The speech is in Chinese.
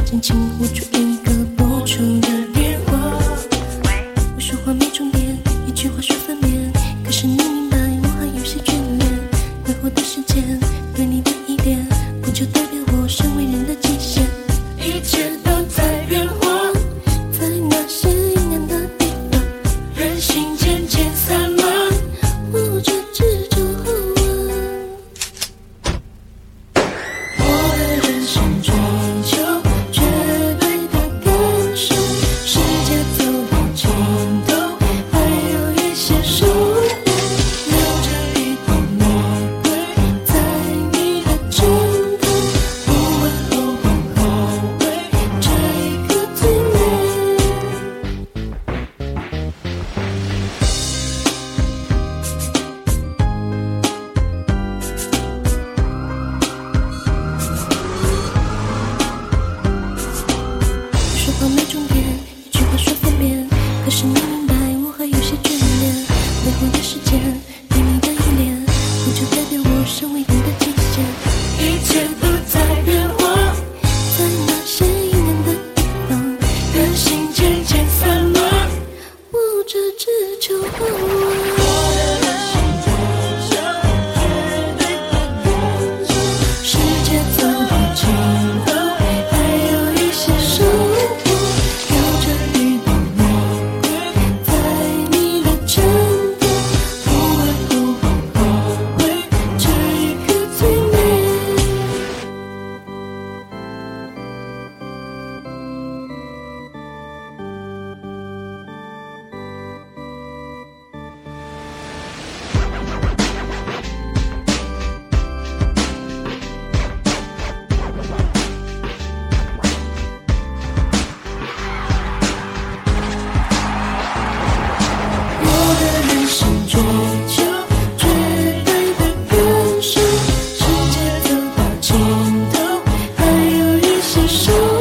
紧紧握住一个拨出的电话。我说话没重点，一句话说翻面，可是你明白我还有些眷恋。挥霍的时间，对你的依恋，不就代表我身为人的极限？一切都在变化，在那些阴暗的地方，人心渐渐散漫，握着执着后问。我的人生追求绝对的感受，世界走到尽头，还有一些守护，留着一朵玫瑰在你的枕头，不会后悔，这一刻最美。说话没重点，一句话说翻面，可是你明白我还有些眷恋。挥霍的时间，对你的依恋，不就代表我身为人的极限？一切都在变化，在那些阴暗的地方，人心渐渐散漫，握着只求后问。世界走到尽头，还有一些守护，留着一朵玫瑰在你的枕头，不会后悔，这一刻最美。我的人生追求绝对的感受，世界走到尽头，还有一些守护。